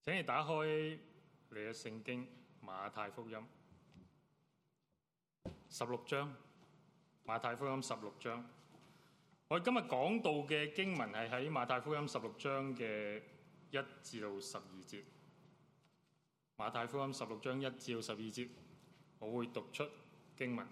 請你打開你嘅聖經馬太福音16章，馬太福音16章。我哋今日講到嘅經文係喺馬太福音16章嘅1至到12節。馬太福音16章1至到12節，我會讀出經文。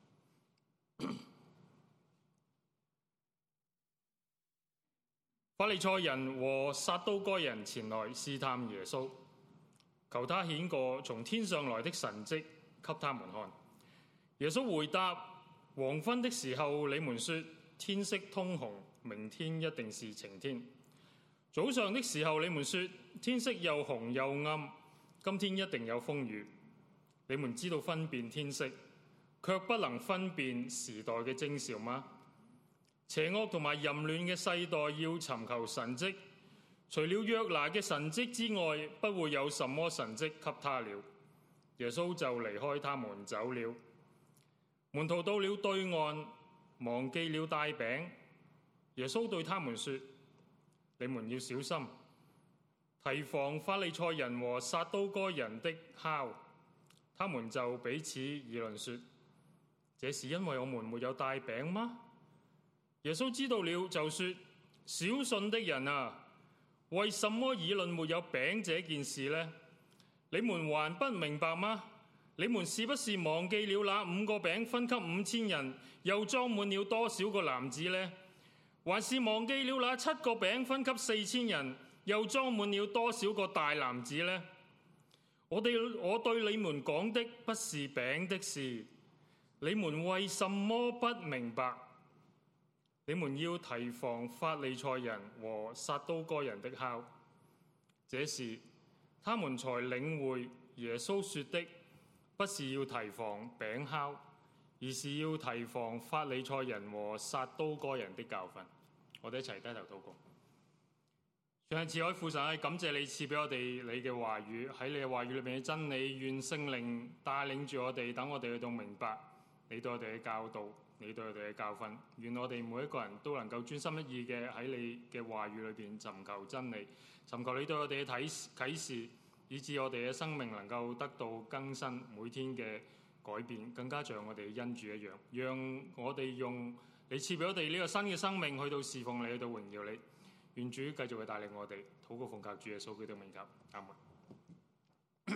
法利賽人和撒都該人前來試探耶穌，求他顯個從天上來的神蹟給他們看。耶穌回答：黃昏的時候，你們說天色通紅，明天一定是晴天；早上的時候，你們說天色又紅又暗，今天一定有風雨。你們知道分辨天色，卻不能分辨時代嘅徵兆嗎？邪惡同埋淫亂嘅世代要尋求神蹟，除了約拿嘅神蹟之外，不會有什麼神蹟給他了。耶穌就離開他們走了。門徒到了對岸，忘記了帶餅。耶穌對他們說：你們要小心，提防法利賽人和撒都該人的酵。他們就彼此議論說：這是因為我們沒有帶餅嗎？耶穌知道了，就說：小信的人啊，為什麼議論沒有餅這件事呢？你們還不明白嗎？你們是不是忘記了那5個餅分給5000人，又裝滿了多少個籃子呢？還是忘記了那7個餅分給4000人，又裝滿了多少個大籃子呢？我對你們講的不是餅的事，你們為什麼不明白？你們要提防法利賽人和撒都該人的酵。這時他們才領會耶穌說的不是要提防餅酵，而是要提防法利賽人和撒都該人的教訓。我哋一齊低頭禱告。上帝慈愛父神，感謝你賜俾我哋你嘅話語，喺你嘅話語裏面嘅真理，願聖靈帶領住我哋，等我哋去到明白你對我哋嘅教導，你對我哋嘅教訓。願我哋每一個人都能夠專心一意嘅喺你嘅話語裏邊尋求真理，尋求你對我哋嘅啟示，以致我哋嘅生命能夠得到更新，每天嘅改變，更加像我哋嘅恩主一樣。讓我哋用你賜俾我哋呢個新嘅生命去到侍奉你，去到榮耀你。願主繼續去帶領我哋，禱告奉靠主耶穌基督名求，阿門。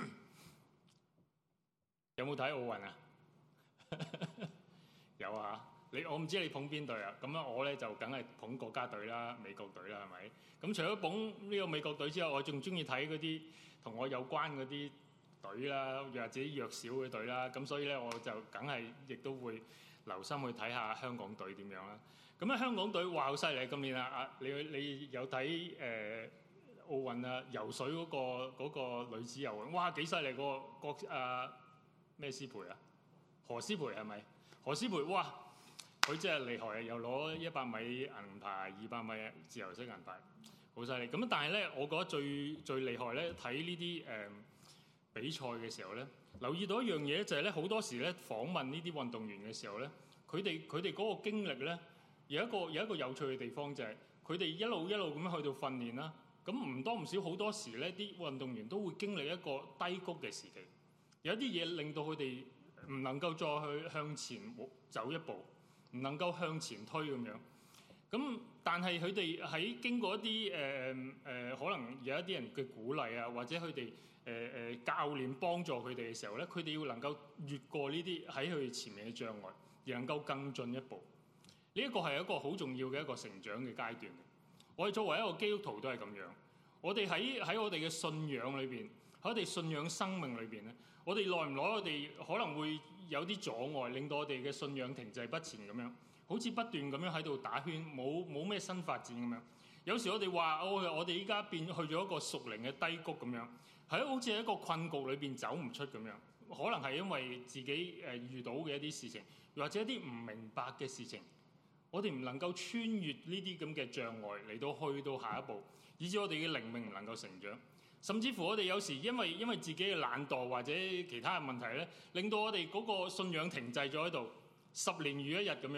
有冇睇奧運啊？有啊！我唔知你捧邊隊啊？咁啊，我咧就梗係捧國家隊啦，美國隊啦，係咪？咁除咗捧呢個美國隊之外，我仲中意睇嗰啲同我有關嗰啲隊啦，或者弱小嘅隊啦。咁所以咧，我就梗係亦都會留心去睇下香港隊點樣啦。咁咧，香港隊哇好犀利今年啊！你有睇奧運啊？游水嗰個女子游泳，哇幾犀利！個咩詩蓓啊？何詩蓓係咪？何詩蓓哇，佢真係厲害啊！又攞100米銀牌、200米自由式銀牌，好犀利。咁但係咧，我覺得最厲害咧，睇呢啲比賽嘅時候咧，留意到一樣嘢就係咧，好多時咧訪問呢啲運動員嘅時候咧，佢哋嗰個經歷咧。有一個有趣嘅地方就係佢哋一路咁樣去到訓練啦，咁唔多唔少好多時咧，啲運動員都會經歷一個低谷嘅時期，有啲嘢令到佢哋唔能夠再去向前走一步，唔能夠向前推咁樣。咁但係佢哋喺經過一啲可能有一啲人嘅鼓勵啊，或者佢哋教練幫助佢哋嘅時候咧，佢哋要能夠越過呢啲喺佢哋前面嘅障礙，而能夠更進一步。呢一個係一個好重要嘅一個成長嘅階段。我哋作為一個基督徒都係咁樣。我哋喺我哋嘅信仰裏邊，喺我哋信仰生命裏邊咧，我哋耐唔耐我哋可能會有啲阻礙，令到我哋嘅信仰停滯不前咁樣，好似不斷咁樣喺度打圈，冇咩新發展咁樣。有時我哋話我哋依家變去咗一個屬靈嘅低谷咁樣，係好似喺一個困局裏邊走唔出咁樣。可能係因為自己遇到嘅一啲事情，或者一啲唔明白嘅事情。我哋唔能夠穿越呢啲咁嘅障礙嚟到去到下一步，以致我哋嘅靈命唔能夠成長。甚至乎我哋有時因為自己嘅懶惰或者其他嘅問題咧，令到我哋嗰個信仰停滯咗喺度，10年如一日咁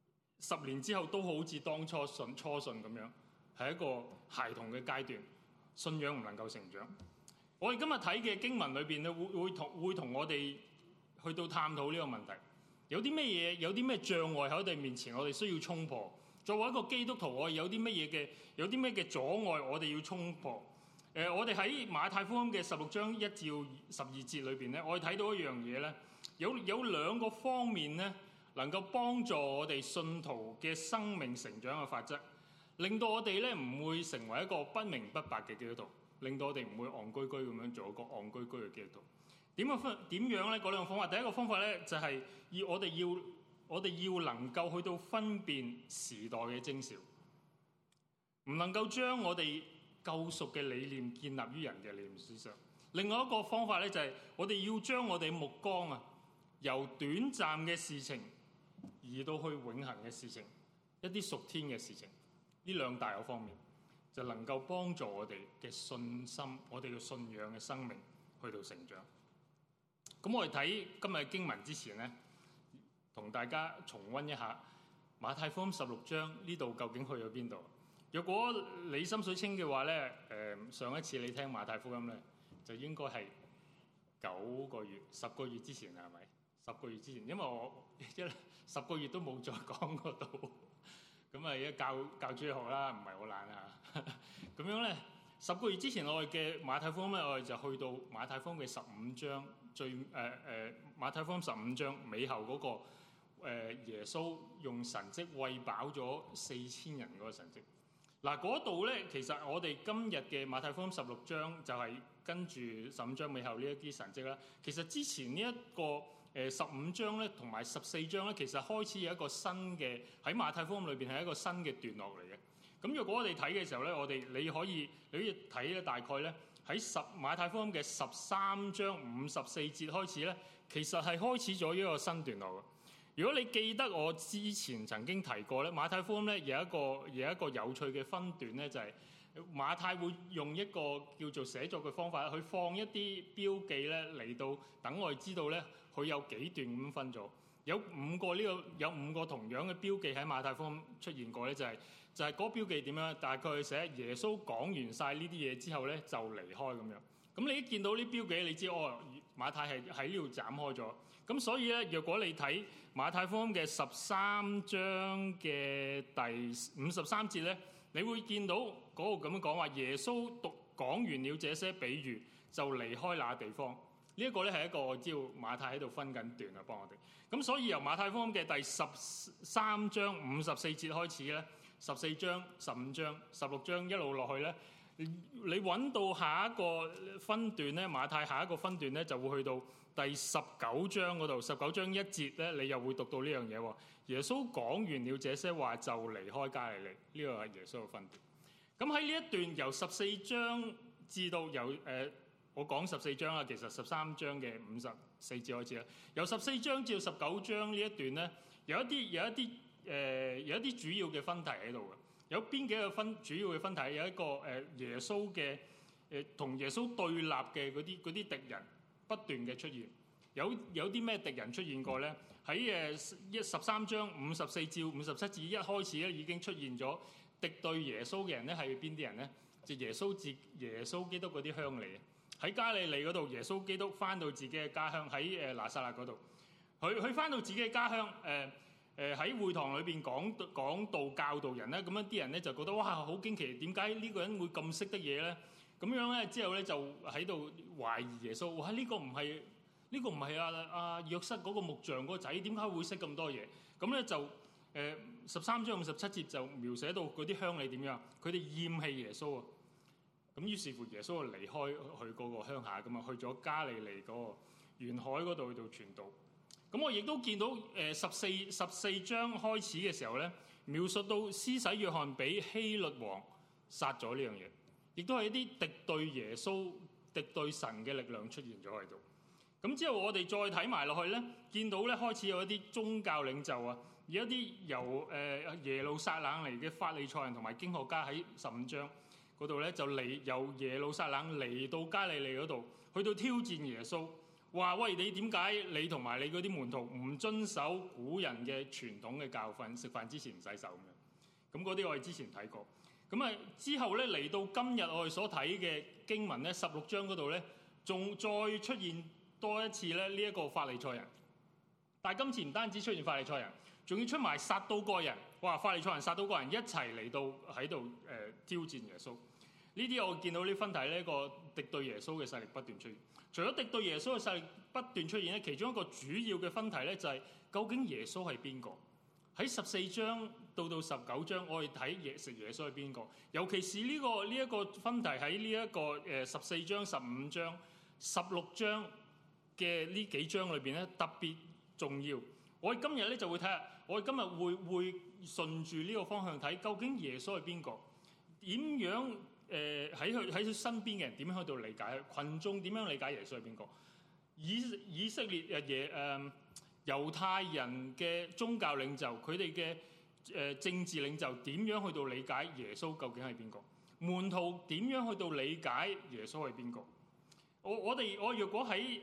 樣。10年之後都好似當初信咁樣，係一個孩童嘅階段。 信仰唔能夠成長。我哋今日睇嘅經文裏邊咧，會同我哋去到探討呢個問題。有啲咩嘢，有啲咩障礙喺我哋面前，我哋需要衝破。作為一個基督徒，我哋有啲咩嘅阻礙，我哋要衝破。我哋喺馬太福音嘅16章1至12節裏邊咧，我哋睇到一樣嘢咧，有兩個方面咧，能夠幫助我哋信徒嘅生命成長嘅法則，令到我哋咧唔會成為一個不明不白嘅基督徒，令到我哋唔會戇居居咁樣做一個戇居居嘅基督徒。點樣咧？嗰兩個方法，第一個方法咧就係我哋要能夠去到分辨時代嘅徵兆，唔能夠將我哋救贖嘅理念建立於人嘅理念之上。另外一個方法咧就係我哋要將我哋目光由短暫嘅事情移到去永恆嘅事情，一啲屬天嘅事情。呢兩大個方面就能夠幫助我哋嘅信心，我哋嘅信仰嘅生命去到成長。咁我哋睇今日經文之前咧，同大家重溫一下馬太福音16章呢度究竟去咗邊度？若果你心水清嘅話咧，上一次你聽馬太福音咧，就應該係10個月之前係咪？10個月之前，因為我10個月都冇再講嗰度，咁而家教主學啦，唔係好懶啊。咁樣咧，10個月之前我哋嘅馬太福音咧，我哋就去到馬太福音嘅15章。馬太福音15章尾後嗰個耶穌用神蹟餵飽咗4000人嗰個神蹟。嗱，嗰度咧，其實我哋今日嘅馬太福音16章就係跟住15章尾後呢一啲神蹟啦。其實之前呢一個15章咧同埋14章咧，其實開始有一個新嘅，喺馬太福音裏邊係一個新嘅段落嚟嘅。咁若果我哋睇嘅時候咧，你可以睇咧，大概咧喺馬太福音嘅13章54節開始咧，其實係開始咗一個新段落嘅。如果你記得我之前曾經提過咧，馬太福音咧有一個有趣嘅分段咧，就係馬太會用一個叫做寫作嘅方法去放一啲標記咧嚟到等我哋知道咧佢有幾段咁分咗。有5個同樣嘅標記喺馬太福音出現過咧，就係嗰個標記點樣？大概寫耶穌講完晒呢啲嘢之後咧就離開咁樣。咁你一見到呢標記，你知馬太係喺呢度斬開咗。咁所以咧，若果你睇馬太福音嘅13章嘅第53節咧，你會見到嗰個咁樣講話，耶穌講完了這些比喻，就離開那地方。呢一個咧係一個我知道馬太喺度分緊段啊，幫我哋。咁所以由馬太福音嘅第13章54節開始咧，14章、15章、16章一路落去咧，你揾到下一個分段咧，馬太下一個分段咧就會去到第19章嗰度。19章1節咧，你又會讀到呢樣嘢喎。耶穌講完了這些話，就離開加利利。呢個係耶穌嘅分段。咁喺呢一段由14章至到我講14章啦，其實13章嘅54節開始啦。由14章至到19章呢一段咧，有一啲主要嘅分題喺度嘅。有邊幾個主要嘅分題？有一個耶穌嘅同耶穌對立嘅嗰啲敵人不斷嘅出現。有啲咩敵人出現過咧？喺13章54至57節一開始咧已經出現咗敵對耶穌嘅人咧，係邊啲人咧？就耶穌基督嗰啲鄉里。喺加利利嗰度，耶穌基督翻到自己嘅家鄉，喺拿撒勒嗰度，佢翻到自己嘅家鄉，喺會堂裏邊講道教導人咧，咁樣啲人咧就覺得哇好驚奇，點解呢個人會咁識得嘢咧？咁樣咧之後咧就喺度懷疑耶穌，哇呢個唔係阿約瑟嗰個木匠嗰個仔，點解會識咁多嘢？咁咧就13章57節就描寫到嗰啲鄉里點樣，佢哋厭棄耶穌啊！咁於是乎耶穌就離開去嗰個鄉下咁啊，去咗加利利嗰個沿海嗰度去到傳道。咁我亦都見到14章開始嘅時候咧，描述到施洗約翰俾希律王殺咗呢樣嘢，亦都係一啲敵對耶穌、敵對神嘅力量出現咗喺度。咁之後我哋再睇埋落去咧，見到咧開始有一啲宗教領袖啊，有一啲由耶路撒冷嚟嘅法利賽人同埋經學家喺15章嗰度咧就由耶路撒冷嚟到加利利嗰度，去到挑戰耶穌，話喂，你點解你同埋你嗰啲門徒唔遵守古人嘅傳統嘅教訓，食飯之前唔洗手咁樣？咁嗰啲我哋之前睇過。 咁啊之後咧嚟到今日我哋所睇嘅經文咧16章嗰度咧，仲再出現多一次咧呢一個法利賽人。但係今次唔單止出現法利賽人，仲要出埋撒都該人。哇！法利賽人、撒都該人一齊嚟到喺度挑戰耶穌。呢啲我見到呢分題呢個敵對耶穌嘅勢力不斷出現。除咗敵對耶穌嘅勢力不斷出現咧，其中一個主要嘅分題咧就係究竟耶穌係邊個？喺14章到19章，我哋睇耶穌係邊個？尤其是呢一個分題喺呢一個14章、15章、16章嘅呢幾章裏邊咧特別重要。我哋今日咧就會睇下，我哋今日會順住呢個方向睇，究竟耶穌係邊個？點樣喺佢身邊嘅人點樣喺度理解？群眾點樣理解耶穌係邊個？以色列猶太人嘅宗教領袖，佢哋嘅政治領袖點樣去到理解耶穌究竟係邊個？門徒點樣去到理解耶穌係邊個？我若果喺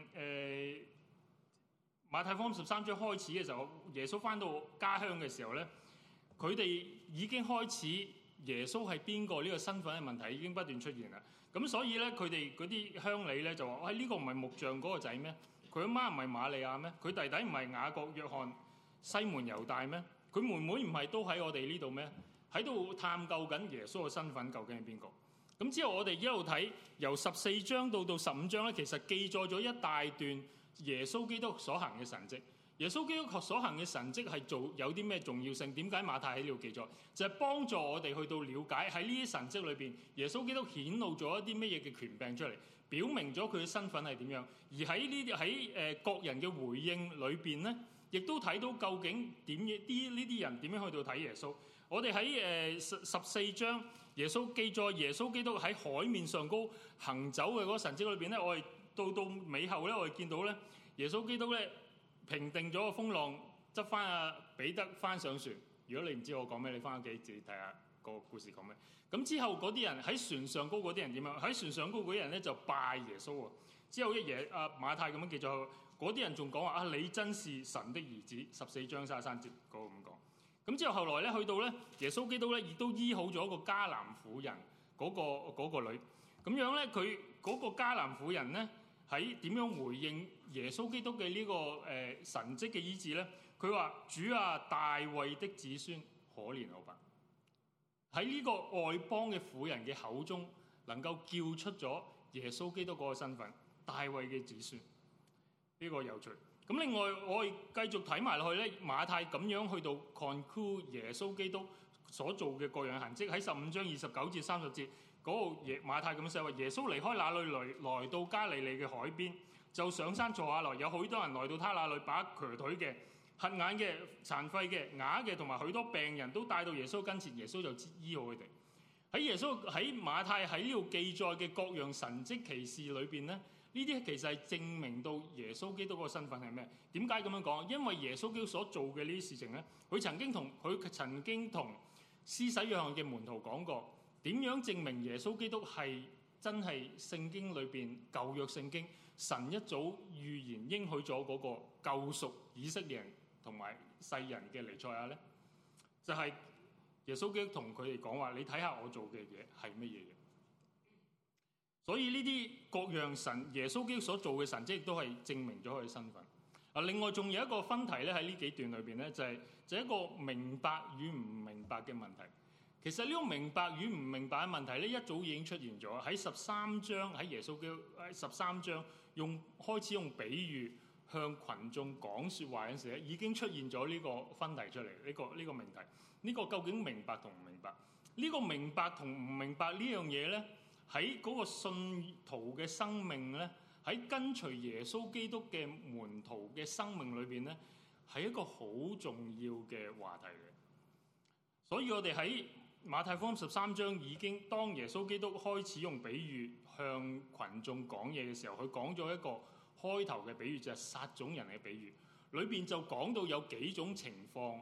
馬太福音13章開始嘅時候，耶穌返到家鄉嘅時候咧，佢哋已經開始耶穌係邊個呢個身份嘅問題已經不斷出現啦。咁所以咧，佢哋嗰啲鄉里咧就話：呢個唔係木匠嗰個仔咩？佢阿媽唔係瑪利亞咩？佢弟弟唔係雅各、約翰、西門、猶大咩？佢妹妹唔係都喺我哋呢度咩？喺度探究緊耶穌嘅身份究竟係邊個？咁之後我哋一路睇由14章到15章咧，其實記載咗一大段耶穌基督所行嘅神蹟。耶穌基督所行嘅神蹟係有啲咩重要性？點解馬太喺呢度記載？就係幫助我哋去到了解喺呢啲神蹟裏邊，耶穌基督顯露咗一啲乜嘢嘅權柄出嚟，表明咗佢嘅身份係點樣。而喺各人嘅回應裏邊咧，亦都睇到究竟呢啲人點樣去到睇耶穌。我哋喺14章耶穌記載耶穌基督喺海面上高行走嘅嗰個神蹟裏邊咧，我哋到尾後咧，我哋見到咧耶穌基督咧平定咗個風浪，執翻阿彼得翻上船。如果你唔知我講咩，你翻屋企自己睇下個故事講咩。咁之後嗰啲人喺船上高嗰啲人點樣？喺船上高嗰啲人咧就拜耶穌喎。之後馬太咁樣記載，嗰啲人仲講話你真是神的兒子。14章33節嗰個咁講。咁之後後來咧去到咧耶穌基督咧亦都醫好咗個迦南婦人嗰個女。咁樣咧佢嗰個迦南婦人咧喺點樣回應耶穌基督嘅呢個神蹟嘅醫治咧？佢話：主啊，大衛的子孫，可憐我吧！喺呢個外邦嘅婦人嘅口中，能夠叫出咗耶穌基督嗰個身份，大衛嘅子孫。呢個有趣。咁另外我哋繼續睇埋落去咧，馬太咁樣去到 conclude 耶穌基督所做嘅各樣痕跡，喺15章29至30節嗰個馬太咁寫話：耶穌離開那裏來到加利利嘅海邊，就上山坐下來，有許多人來到他那裏，把瘸腿嘅、瞎眼嘅、殘廢嘅、啞嘅同埋許多病人都帶到耶穌跟前，耶穌就醫好佢哋。喺馬太喺呢度記載嘅各樣神蹟奇事裏邊咧，呢啲其實係證明到耶穌基督嗰個身份係咩？點解咁樣講？因為耶穌基督所做嘅呢啲事情咧，佢曾經同施洗約翰嘅門徒講過，點樣證明耶穌基督係真係聖經裏邊舊約聖經神一早預言應許咗嗰個救贖以色列人同埋世人嘅彌賽亞咧？就係耶穌基督同佢哋講話：你睇下我做嘅嘢係乜嘢嘢？所以呢啲各樣神耶穌基督所做嘅神蹟，亦都係證明咗佢嘅身份。另外仲有一個分題咧，喺呢幾段裏邊咧，就係一個明白與唔明白嘅問題。其實呢個明白與唔明白嘅問題咧，一早已經出現咗喺13章，喺耶穌基督13章開始用比喻向群眾講説話嗰陣時咧，已經出現咗呢個分題出嚟。呢個命題，呢個究竟明白同唔明白？呢個明白同唔明白呢樣嘢咧，喺嗰個信徒嘅生命咧，喺跟隨耶穌基督嘅門徒嘅生命裏邊咧，係一個好重要嘅話題嘅。所以我哋喺馬太福音13章已經，當耶穌基督開始用比喻向群眾講嘢嘅時候，佢講咗一個開頭嘅比喻，就係撒種人嘅比喻。裏邊就講到有幾種情況，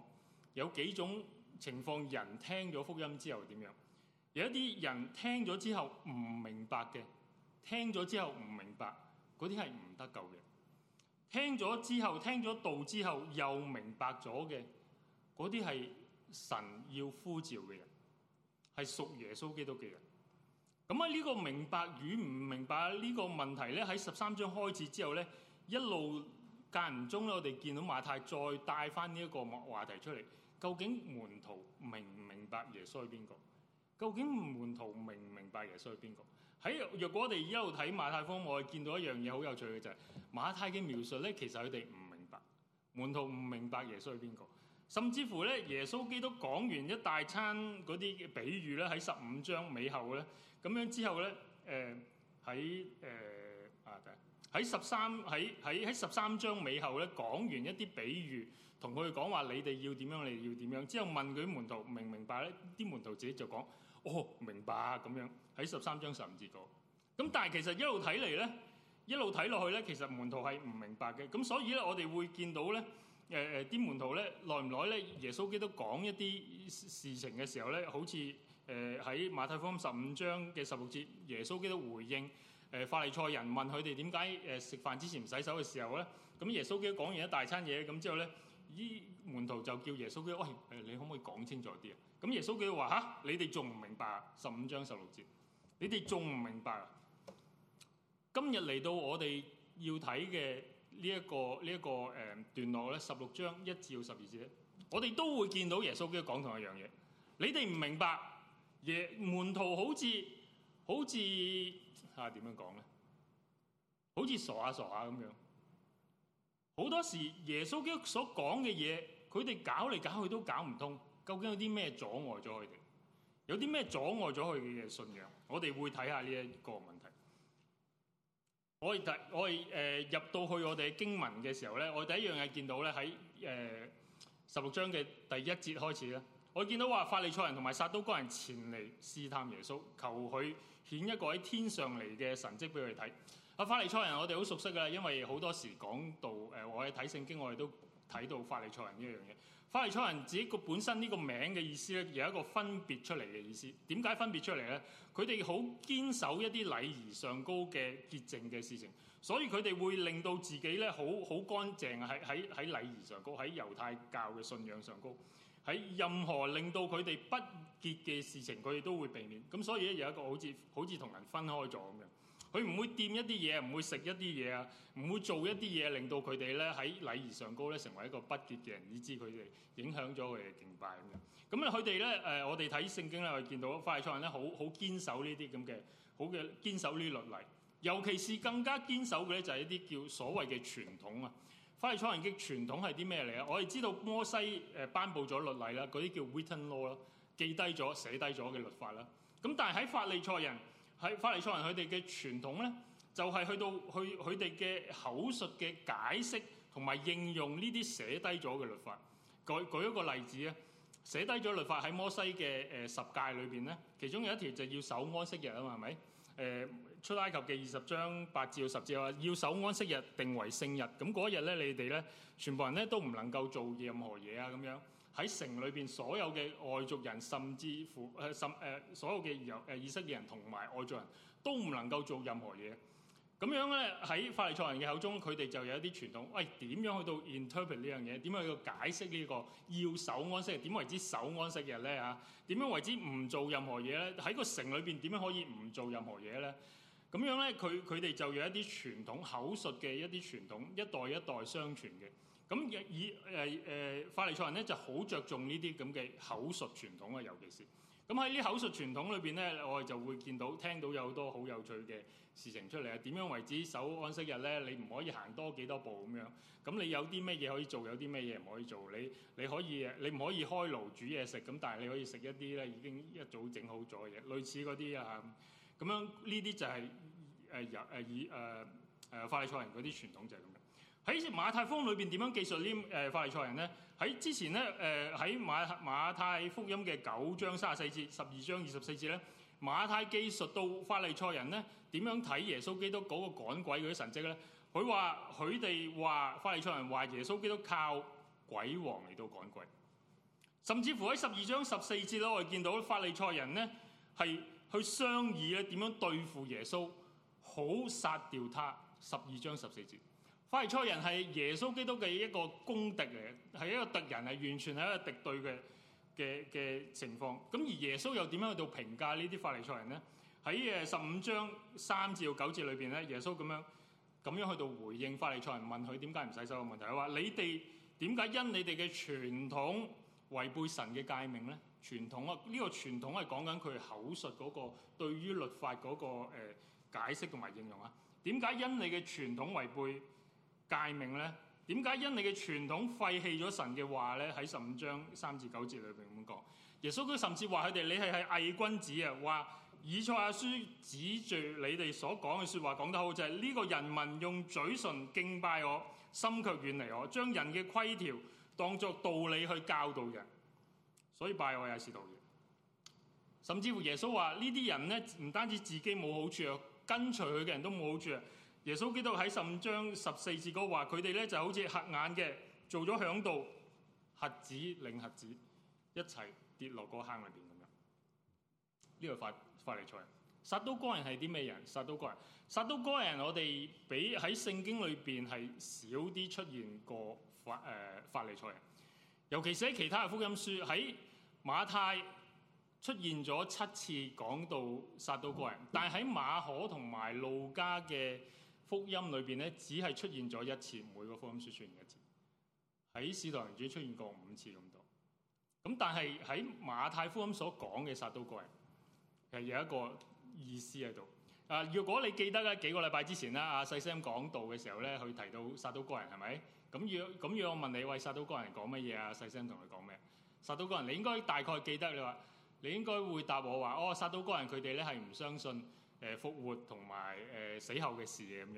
人聽咗福音之後點樣？有一啲人聽咗之後唔明白嘅，聽咗之後唔明白，嗰啲係唔得救嘅。聽咗道之後又明白咗嘅，嗰啲係神要呼召嘅人， 係屬耶穌基督嘅人。咁喺呢個明白與唔明白呢個問題咧，喺13章開始之後咧，一路間唔中咧，我哋見到馬太再帶翻呢一個話題出嚟。究竟門徒明唔明白耶穌係邊個？究竟門徒明唔明白耶穌係邊個？若果我哋一路睇馬太福音，我哋見到一樣嘢好有趣嘅就係馬太嘅描述咧，其實佢哋唔明白，門徒唔明白耶穌係邊個。甚至乎咧，耶穌基督講完一大餐嗰啲比喻咧，喺15章尾後咧，咁樣之後咧，喺13章尾後咧，講完一啲比喻，同佢哋講話你哋要點樣，你哋要點樣，之後問佢啲門徒明唔明白咧？啲門徒自己就講：哦，明白啊！咁樣喺13章15節講。咁但係其實一路睇嚟咧，一路睇落去咧，其實門徒係唔明白嘅。咁所以咧，我哋會見到咧。啲門徒咧，耐唔耐咧？耶穌基督講一啲事情嘅時候咧，好似喺馬太福音15章嘅16節，耶穌基督回應法利賽人問佢哋點解食飯之前唔洗手嘅時候咧，咁耶穌基督講完一大餐嘢，咁之後咧，啲門徒就叫耶穌基督：喂，你可唔可以講清楚啲啊？咁耶穌基督話：嚇，你哋仲唔明白啊？15章16節，你哋仲唔明白啊？今日嚟到我哋要睇嘅。呢一個段落咧，16章1至12節咧，我哋都會見到耶穌基督講同一樣嘢。你哋唔明白，門徒好似點樣講咧？好似傻下咁樣。好多時耶穌基督所講嘅嘢，佢哋搞嚟搞去都搞唔通。究竟有啲咩阻礙咗佢哋？有啲咩阻礙咗佢嘅信仰？我哋會睇下呢一個問題。我哋入到去我哋嘅經文嘅時候咧，我哋第一樣嘢見到咧，喺16章嘅第1節開始咧，我見到話法利賽人同埋撒都該人前嚟試探耶穌，求佢顯一個喺天上嚟嘅神蹟俾佢哋睇。法利賽人我哋好熟悉㗎，因為好多時講到我哋睇聖經，我哋都睇到法利賽人呢一樣嘢。法利賽人自己個本身呢個名嘅意思咧，有一個分別出嚟嘅意思。點解分別出嚟咧？佢哋好堅守一啲禮儀上高嘅潔淨嘅事情，所以佢哋會令到自己咧好乾淨，喺禮儀上高，喺猶太教嘅信仰上高，喺任何令到佢哋不潔嘅事情，佢哋都會避免。咁所以咧有一個好似同人分開咗咁樣。佢唔會掂一啲嘢，唔會食一啲嘢啊，唔會做一啲嘢，令到佢哋咧喺禮儀上高咧成為一個不潔嘅人，以致佢哋影響咗佢哋嘅敬拜咁樣。咁佢哋咧我哋睇聖經咧，我哋見到法利賽人咧好堅守呢啲咁嘅好嘅堅守呢律例，尤其是更加堅守嘅咧就係一啲叫所謂嘅傳統啊。法利賽人嘅傳統係啲咩嚟啊？我哋知道摩西頒布咗律例啦，嗰啲叫 written law 啦，記低咗寫低咗嘅律法啦。咁但係喺法利賽人佢哋嘅傳統咧，就係去到佢哋嘅口述嘅解釋同埋應用呢啲寫低咗嘅律法。舉一個例子啊，寫低咗律法喺摩西嘅十誡裏邊咧，其中有一條就要守安息日啊嘛，係咪？出埃及嘅20章8至10節話要守安息日，定為聖日。咁嗰一日咧，你哋咧全部人咧都唔能夠做任何嘢啊咁樣。喺城裏邊所有嘅外族人，甚至乎所有嘅以色列人同埋外族人都唔能夠做任何嘢。咁樣咧喺法利賽人嘅口中，佢哋就有一啲傳統。喂，點樣去到 interpret 呢樣嘢？點樣去到解釋呢個要守安息日？點為之守安息日咧？嚇，點樣為之唔做任何嘢咧？喺個城裏邊點樣可以唔做任何嘢咧？咁樣咧，佢哋就有一啲傳統口述嘅一啲傳統，一代一代相傳嘅。咁法利賽人咧就好着重呢啲咁嘅口述傳統啊，尤其是咁喺呢口述傳統裏邊咧，我哋就會聽到有好多好有趣嘅事情出嚟啊！點樣為之守安息日咧？你唔可以行多幾多步咁樣。咁你有啲咩嘢可以做，有啲咩嘢唔可以做？你唔可以開爐煮嘢食，咁但係你可以食一啲咧已經一早整好咗嘅嘢，類似嗰啲啊。咁樣呢啲就係法利賽人嗰啲傳統就係咁樣。喺馬太福音裏邊點樣記述呢法利賽人咧？喺之前咧喺馬太福音嘅9章34節、12章24節咧，馬太記述到法利賽人咧點樣睇耶穌基督嗰個趕鬼嗰啲神蹟咧。佢哋話法利賽人話耶穌基督靠鬼王嚟到趕鬼，甚至乎喺12章14節咧，我哋見到法利賽人咧係去商議咧點樣對付耶穌，好殺掉他。12章14節。法利賽人係耶穌基督嘅一個公敵嚟嘅，係一個敵人，係完全係一個敵對嘅情況。咁而耶穌又點樣去到評價呢啲法利賽人呢？喺15章3至9節裏邊咧，耶穌咁樣去到回應法利賽人問佢點解唔洗手嘅問題。佢話：你哋點解因你哋嘅傳統違背神嘅誡命咧？傳統啊，呢個傳統係講緊佢口述嗰個對於律法嗰個解釋同埋應用啊。點解因你嘅傳統違背誡命咧？點解因你嘅傳統廢棄咗神嘅話咧？喺15章3至9節裏邊咁講。耶穌佢甚至話佢哋：你係偽君子啊！話以賽亞書指住你哋所講嘅説話講得好，就係呢個人民用嘴唇敬拜我，心卻遠離我，將人嘅規條當作道理去教導人，所以拜我也是徒然。甚至乎耶穌話呢啲人呢，唔單止自己冇好處啊，跟隨佢嘅人都冇好處啊。耶穌基督喺15章14節嗰話，佢哋咧就好似瞎眼嘅，做咗響度，瞎子領瞎子，一齊跌落個坑裏邊咁樣。呢個法利賽人。撒都該人係啲咩人？撒都該人我哋比喺聖經裏邊係少啲出現過法利賽人，尤其是喺其他嘅福音書，喺馬太出現咗7次講到撒都該人，但係喺馬可同埋路加嘅福音裏邊咧，只係出現咗1次，每個福音書出現1次。喺使徒行傳出現過5次咁多。咁但係喺馬太福音所講嘅撒都該人係有一個意思喺度。如果你記得咧，幾個禮拜之前啦，阿細 Sam 講道嘅時候咧，佢提到撒都該人係咪？咁如果我問你，喂，撒都該人講乜嘢啊？細 Sam 同你講咩？撒都該人你應該大概記得，你應該會答我話：撒都該人佢哋咧係唔相信復活同埋死後嘅事嘅咁樣。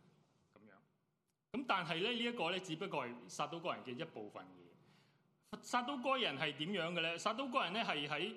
咁但係咧呢一個咧，只不過係撒都該人嘅一部分嘢。撒都該人係點樣嘅咧？撒都該人咧係喺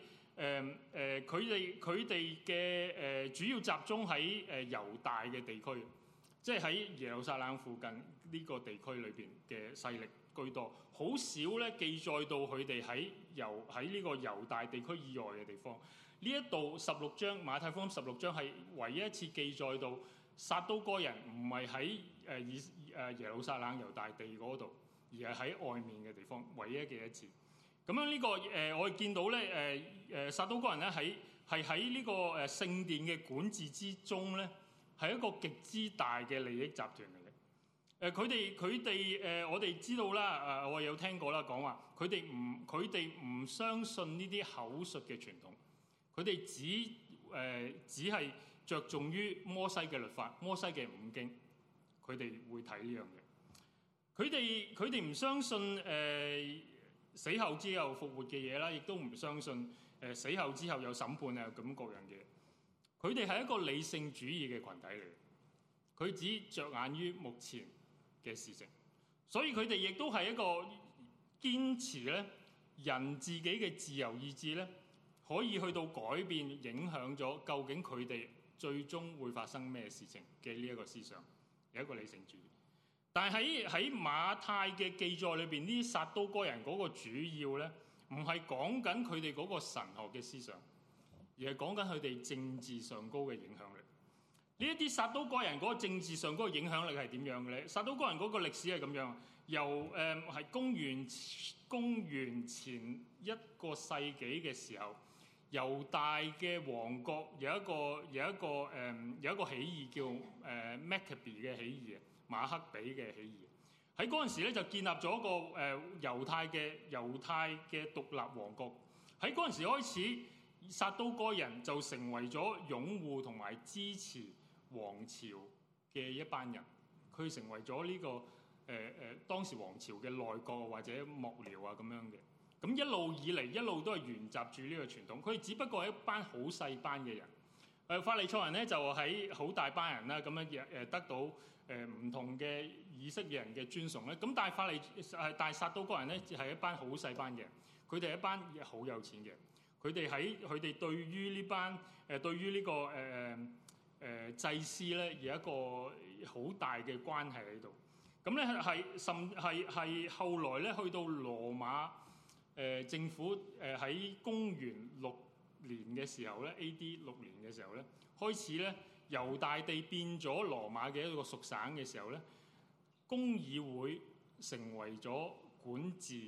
佢哋嘅主要集中喺猶大嘅地區，即係喺耶路撒冷附近呢個地區裏邊嘅勢力居多，好少咧記載到佢哋喺呢個猶大地區以外嘅地方。呢一度16章馬太福音16章係唯一一次記載到撒都該人唔係喺耶路撒冷猶大地嗰度，而係喺外面嘅地方，唯一嘅一次。咁樣呢個我哋見到咧撒都該人咧喺呢個聖殿嘅管治之中咧，係一個極之大嘅利益集團嚟嘅。佢哋我哋知道啦，我有聽過啦講話，佢哋唔相信呢啲口述嘅傳統，佢哋只係着重於摩西嘅律法、摩西嘅五經，佢哋會睇呢樣嘢。佢哋唔相信死後之後復活嘅嘢啦，亦都唔相信死後之後有審判啊咁各樣嘢。佢哋係一個理性主義嘅群體嚟，佢只着眼於目前嘅事情，所以佢哋亦都係一個堅持咧人自己嘅自由意志咧，可以去到改變影響咗究竟佢哋最終會發生咩事情嘅呢一個思想，有一個理性主義。但係喺馬太嘅記載裏邊，呢啲撒都該人嗰個主要咧，唔係講緊佢哋嗰個神學嘅思想，而係講緊佢哋政治上高嘅影響力。呢一啲撒都該人嗰個政治上高嘅影響力係點樣嘅咧？撒都該人嗰個歷史係咁樣，由係公元前1個世紀嘅時候，猶大嘅王國有一個起義叫Maccabi 嘅起義，馬克比嘅起義。喺嗰陣時咧就建立咗一個猶太嘅獨立王國。喺嗰陣時開始，撒都該人就成為咗擁護同埋支持王朝嘅一班人。佢成為咗呢個當時王朝嘅內閣或者幕僚啊咁樣嘅。咁一路以嚟一路都係沿襲住呢個傳統。佢哋只不過係一班好細班嘅人。法利賽人咧就喺好大班人啦，咁樣得到唔同嘅以色列人嘅尊崇咧。咁但係撒都該人咧係一班好細班嘅人，佢哋係一班好有錢嘅。佢哋對於呢班對於呢個祭司咧有一個好大嘅關係喺度。咁咧係後來咧去到羅馬政府喺公元6年嘅時候咧 ，A.D. 6年嘅時候咧，開始咧猶大地變咗羅馬嘅一個屬省嘅時候咧，公議會成為咗管治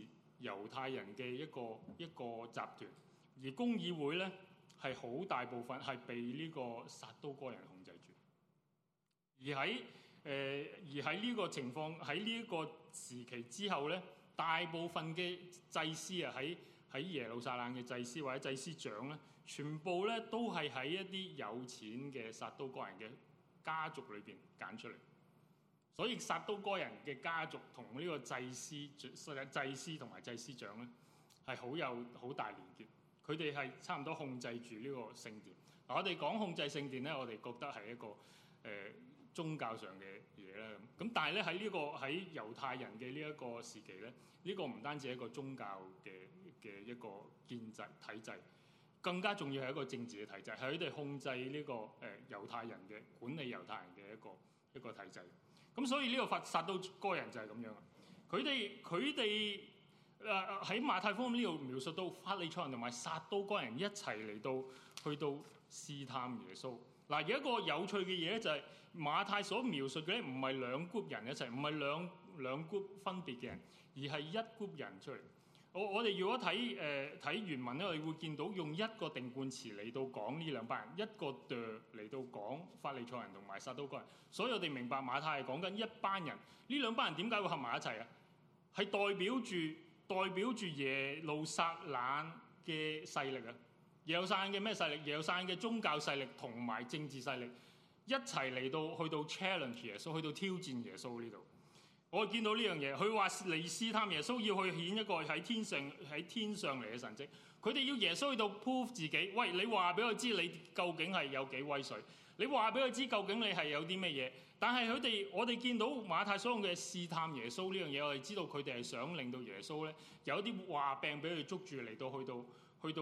猶太人嘅一個集團，而公議會咧係好大部分係被呢個撒都該人控制住。而喺呢個情況，喺呢一個時期之後咧，大部分嘅祭司啊，喺耶路撒冷嘅祭司或者祭司長咧，全部咧都係喺一啲有錢嘅撒都該人嘅家族裏邊揀出嚟。所以撒都該人嘅家族同呢個祭司同埋祭司長咧係好大連結。佢哋係差唔多控制住呢個聖殿。嗱，我哋講控制聖殿咧，我哋覺得係一個宗教上嘅嘢啦。咁但係咧喺猶太人嘅呢一個時期咧，呢個唔單止係一個宗教嘅一個建制體制，更加重要係一個政治嘅體制，係佢哋控制呢個猶太人嘅管理猶太人嘅一個體制。咁所以呢個撒都該人就係咁樣。佢哋喺馬太福音呢度描述到法利賽人同埋撒都該人一齊嚟到去到試探耶穌。嗱，有一個有趣嘅嘢咧，就係馬太所描述嘅咧，唔係兩 group 人一齊，唔係兩 group 分別嘅人，而係一 group 人出嚟。我哋如果睇原文咧，我哋會見到用一個定冠詞嚟到講呢兩班人，一個嚟到講法利賽人同埋撒都該人。所以我哋明白馬太係講緊一班人。呢兩班人點解會合埋一齊啊？係代表住耶路撒冷嘅勢力啊！耶路撒冷嘅咩勢力？耶路撒冷嘅宗教勢力同埋政治勢力一齊嚟到去到 challenge 耶穌，去到挑戰耶穌呢度。我見到呢樣嘢，佢話嚟試探耶穌，要去顯一個喺天上嚟嘅神蹟。佢哋要耶穌去到 prove 自己。喂，你話俾我知你究竟係有幾威水？你話俾我知究竟你係有啲咩嘢？但係我哋見到馬太所用嘅試探耶穌呢樣嘢，我哋知道佢哋係想令到耶穌咧有一啲話病俾佢捉住嚟到去到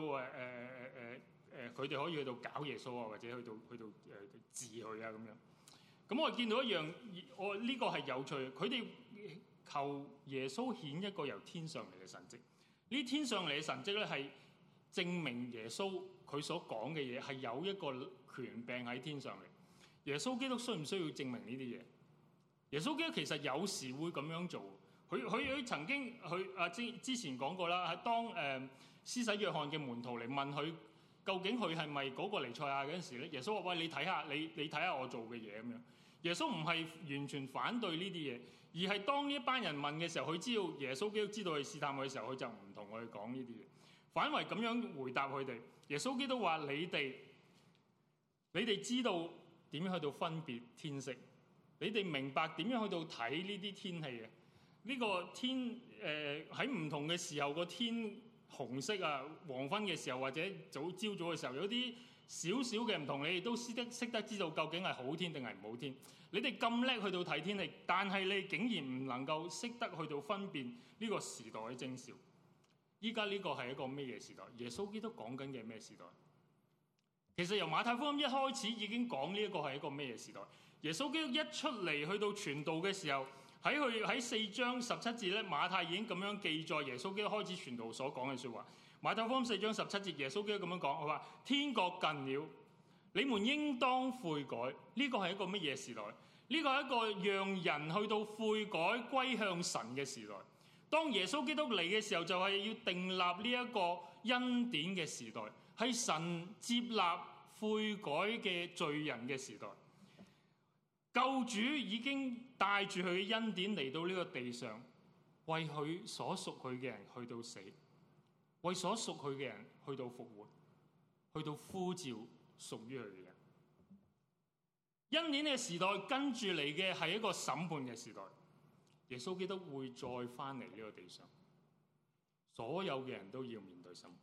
佢哋可以去到搞耶穌啊，或者去到治佢啊咁樣。咁我見到一樣，呢個係有趣。佢哋求耶穌顯一個由天上嚟嘅神蹟。呢天上嚟嘅神蹟咧，係證明耶穌佢所講嘅嘢係有一個權柄喺天上嚟。耶穌基督需唔需要證明呢啲嘢？耶穌基督其實有時會咁樣做。佢曾經之前講過啦，係當施洗約翰嘅門徒嚟問佢究竟佢係咪嗰個彌賽亞嗰陣時咧，耶穌話：喂，你睇下我做嘅嘢咁樣。耶穌唔係完全反對呢啲嘢，而係當呢一班人問嘅時候，佢知道耶穌基督知道佢試探佢嘅時候，佢就唔同佢講呢啲嘢，反為咁樣回答佢哋。耶穌基督話：你哋知道點樣去到分別天色？你哋明白點樣去到睇呢啲天氣嘅？呢個天喺唔同嘅時候個天紅色啊，黃昏嘅時候或者朝早嘅時候有啲少少嘅唔同，你哋都識得知道究竟係好天定係唔好天。你哋咁叻去到睇天氣，但係你竟然唔能夠識得去到分辨呢個時代嘅徵兆。依家呢個係一個咩嘢時代？耶穌基督講緊嘅咩時代？其實由馬太福音一開始已經講呢一個係一個咩嘢時代。耶穌基督一出嚟去到傳道嘅時候，喺4章17節咧，馬太已經咁樣記載耶穌基督開始傳道所講嘅説話。馬太福音4章17節，耶穌基督咁樣講，佢話：天國近了，你們應當悔改。呢個係一個乜嘢時代？呢個係一個讓人去到悔改歸向神嘅時代。當耶穌基督嚟嘅時候，就係要訂立呢一個恩典嘅時代，係神接納悔改嘅罪人嘅時代。救主已經帶住佢嘅恩典嚟到呢個地上，為佢所屬佢嘅人去到死，為所屬佢嘅人去到復活，去到呼召屬於佢嘅人。恩典嘅時代跟住嚟嘅係一個審判嘅時代。耶穌基督會再翻嚟呢個地上，所有嘅人都要面對審判。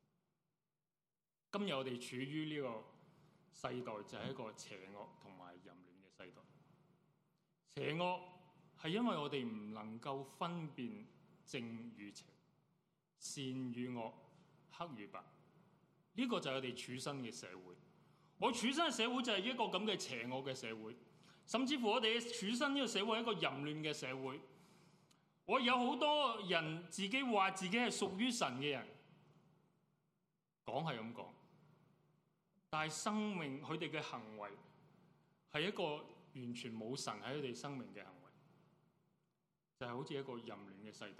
今日我哋處於呢個世代就係一個邪惡同埋淫亂嘅世代。邪惡係因為我哋唔能夠分辨正與邪、善與惡、黑與白。呢個就係我哋處身嘅社會。我處身嘅社會就係一個咁嘅邪惡嘅社會，甚至乎我哋處身呢個社會係一個淫亂嘅社會。我有好多人自己話自己係屬於神嘅人，講係咁講，但係生命佢哋嘅行為係一個完全冇神喺佢哋生命嘅行為，就係好似一個淫亂嘅世代。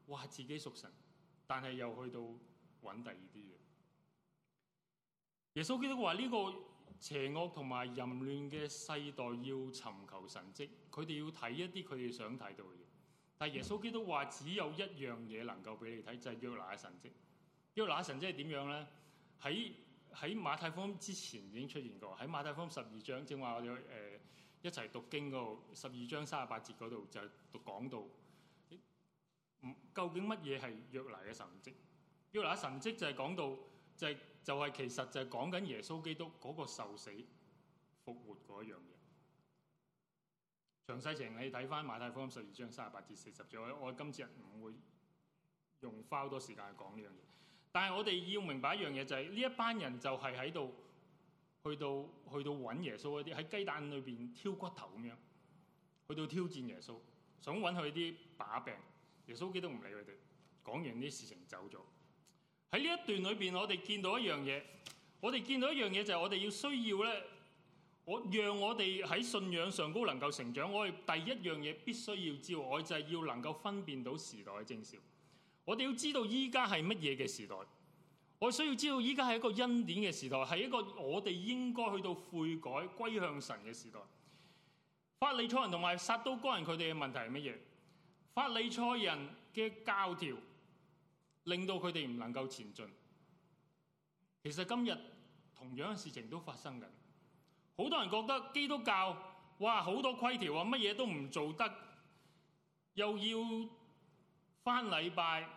話自己屬神，但係又去到揾第二啲嘢。耶穌基督話呢個邪惡同埋淫亂嘅世代要尋求神蹟，佢哋要睇一啲佢哋想睇到嘅嘢。但係耶穌基督話只有一樣嘢能夠俾你睇，就係約拿嘅神蹟。約拿嘅神蹟係點樣咧？喺馬太福音之前已經出現過，喺馬太福音12章，正話我哋一齊讀經嗰度12章38節嗰度就講到，究竟乜嘢係約拿嘅神蹟？約拿嘅神蹟就係講到就係其實就係講緊耶穌基督嗰個受死復活嗰一樣嘢。詳細情你睇翻馬太福音12章38至40節，我今次唔會花好多時間去講呢樣嘢。但係我哋要明白一樣嘢，就係呢一班人就係喺度去到揾耶穌嗰啲，喺雞蛋裏邊挑骨頭咁樣，去到挑戰耶穌，想揾佢啲把柄。耶穌基督唔理佢哋，講完啲事情走咗。喺呢一段裏邊，我哋見到一樣嘢，就係我哋要需要咧，讓我哋喺信仰上高能夠成長。我哋第一樣嘢必須要知道，我就係要能夠分辨到時代嘅徵兆。我哋要知道依家係乜嘢嘅時代，我需要知道依家係一個恩典嘅時代，係一個我哋應該去到悔改歸向神嘅時代。法利賽人同埋撒都該人佢哋嘅問題係乜嘢？法利賽人嘅教條令到佢哋唔能夠前進。其實今日同樣嘅事情都發生緊。好多人覺得基督教哇好多規條啊，乜嘢都唔做得，又要返禮拜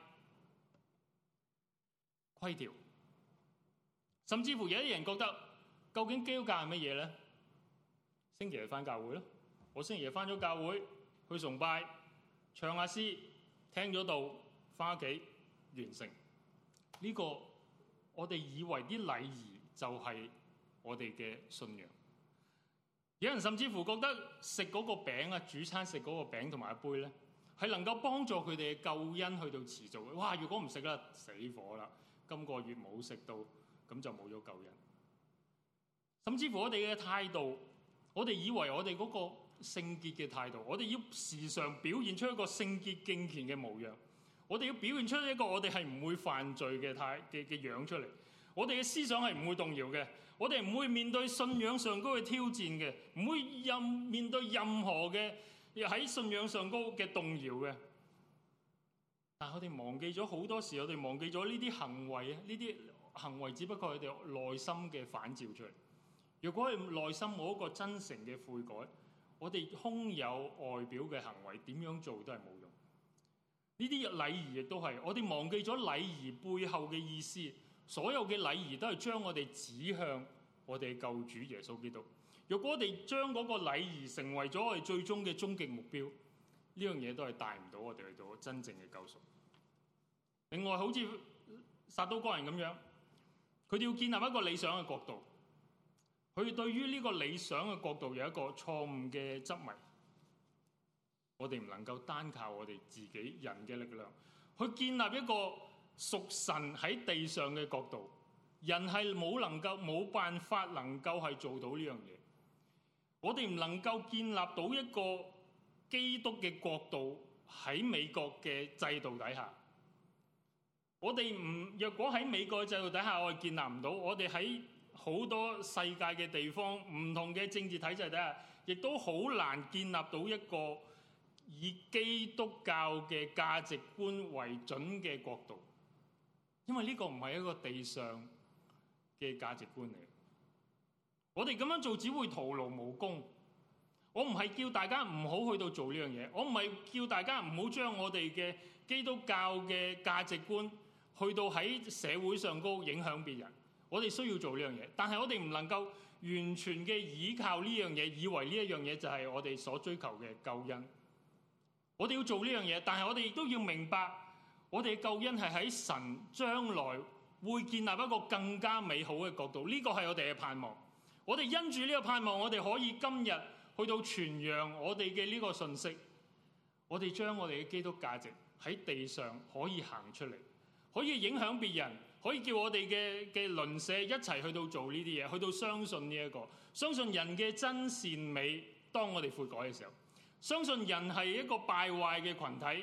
規條，甚至乎有啲人覺得究竟基督教係乜嘢咧？星期日返教會咯，我星期日返咗教會去崇拜，唱下詩，聽咗道，返屋企完成。呢個我哋以為啲禮儀就係我哋嘅信仰。有人甚至乎覺得食嗰個餅啊，主餐食嗰個餅同埋一杯咧，係能夠幫助佢哋嘅救恩去到持續嘅。哇！如果唔食啦，死火啦！今個月冇食到，咁就冇咗救恩。甚至乎我哋嘅態度，我哋以為我哋嗰個聖潔嘅態度，我哋要時常表現出一個聖潔敬虔嘅模樣。我哋要表現出一個我哋係唔會犯罪嘅樣出嚟。我哋嘅思想係唔會動搖嘅。我哋唔會面對信仰上高嘅挑戰嘅，唔會面對任何嘅喺信仰上高嘅動搖嘅。但係我哋忘記咗好多時，我哋忘記咗呢啲行為啊！呢啲行為只不過係佢哋內心嘅反照出嚟。如果係內心冇一個真誠嘅悔改，我哋空有外表嘅行為，點樣做都係冇用。呢啲禮儀亦都係，我哋忘記咗禮儀背後嘅意思。所有嘅禮儀都係將我哋指向我哋救主耶穌基督。如果我哋將嗰個禮儀成為咗我哋最終嘅終極目標，呢樣嘢都係帶唔到我哋去到真正嘅救贖。另外，好似撒都該人咁樣，佢哋要建立一個理想嘅國度，佢對於呢個理想嘅國度有一個錯誤嘅執迷。我哋唔能夠單靠我哋自己人嘅力量去建立一個屬神喺地上嘅國度。人係冇辦法能夠係做到呢樣嘢。我哋唔能夠建立到一個基督嘅國度喺美國嘅制度底下。我哋若果喺美國嘅制度底下，我哋建立唔到。我哋喺好多世界嘅地方，唔同嘅政治體制底下，亦都好難建立到一個以基督教嘅價值觀為準嘅國度。因為呢個唔係一個地上嘅價值觀嚟，我哋咁樣做只會徒勞無功。我唔係叫大家唔好去到做呢樣嘢，我唔係叫大家唔好將我哋嘅基督教嘅價值觀去到喺社會上高影響別人。我哋需要做呢樣嘢，但係我哋唔能夠完全嘅依靠呢樣嘢，以為呢一樣嘢就係我哋所追求嘅救恩。我哋要做呢樣嘢，但係我哋亦都要明白，我哋嘅救恩係喺神將來會建立一個更加美好嘅國度。呢個係我哋嘅盼望。我哋因住呢個盼望，我哋可以今日去到傳揚我哋嘅呢個信息。我哋將我哋嘅基督價值喺地上可以行出嚟，可以影響別人，可以叫我哋嘅鄰舍一齊去到做呢啲嘢，去到相信呢一個，相信人嘅真善美。當我哋悔改嘅時候，相信人係一個敗壞嘅群體，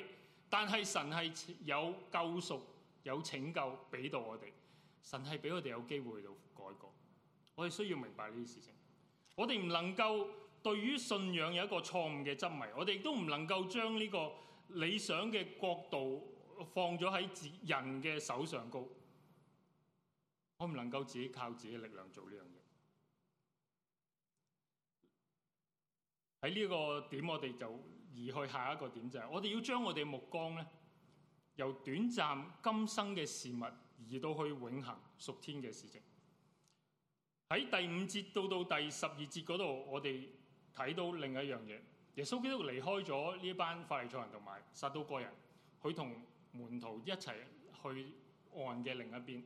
但係神係有救贖、有拯救俾到我哋。神係俾我哋有機會去到改過。我哋需要明白呢啲事情。我哋唔能夠對於信仰有一個錯誤嘅執迷，我哋亦都唔能夠將呢個理想嘅國度放咗喺人嘅手上高。我唔能夠自己靠自己力量做呢樣嘢。喺呢個點，我哋就移去下一個點，就係我哋要將我哋目光咧，由短暫今生嘅事物移到去永恆屬天嘅事情。喺第5節到第12節嗰度，我哋睇到另一樣嘢。耶穌基督離開咗呢班法利賽人同埋撒都該人，佢同門徒一齊去岸嘅另一邊。